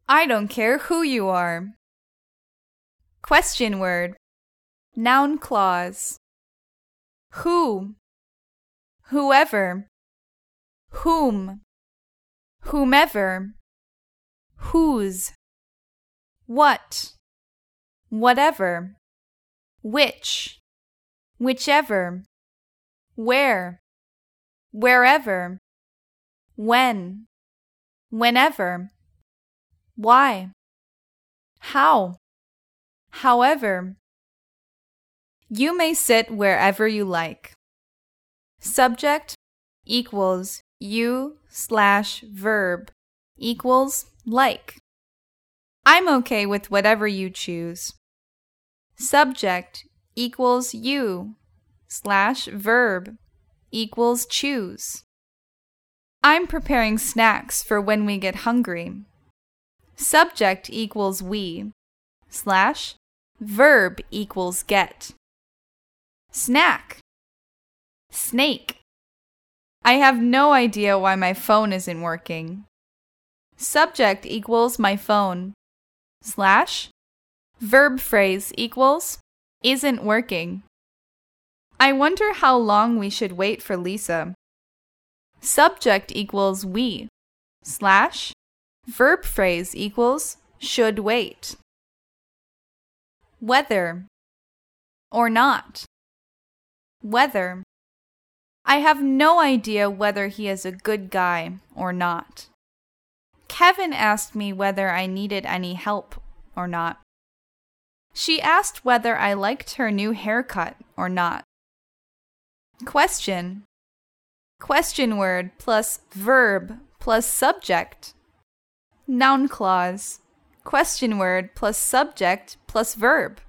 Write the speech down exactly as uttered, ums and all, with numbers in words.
I don't care who you are. Question word. Noun clause. Who. Whoever. Whom. Whomever. Whose. What. Whatever. Which. Whichever. Where. Wherever. When. Whenever. Why. How. However. You may sit wherever you like. Subject equals you slash verb equals like. I'm okay with whatever you choose. Subject equals you slash verb equals choose. I'm preparing snacks for when we get hungry. Subject equals we slash verb equals get. Snack. Snake. I have no idea why my phone isn't working. Subject equals my phone slash verb phrase equals isn't working. I wonder how long we should wait for Lisa. Subject equals we slash verb phrase equals should wait. Whether or not. Whether. I have no idea whether he is a good guy or not. Kevin asked me whether I needed any help or not. She asked whether I liked her new haircut or not. Question. Question word plus verb plus subject. Noun clause. Question word plus subject plus verb.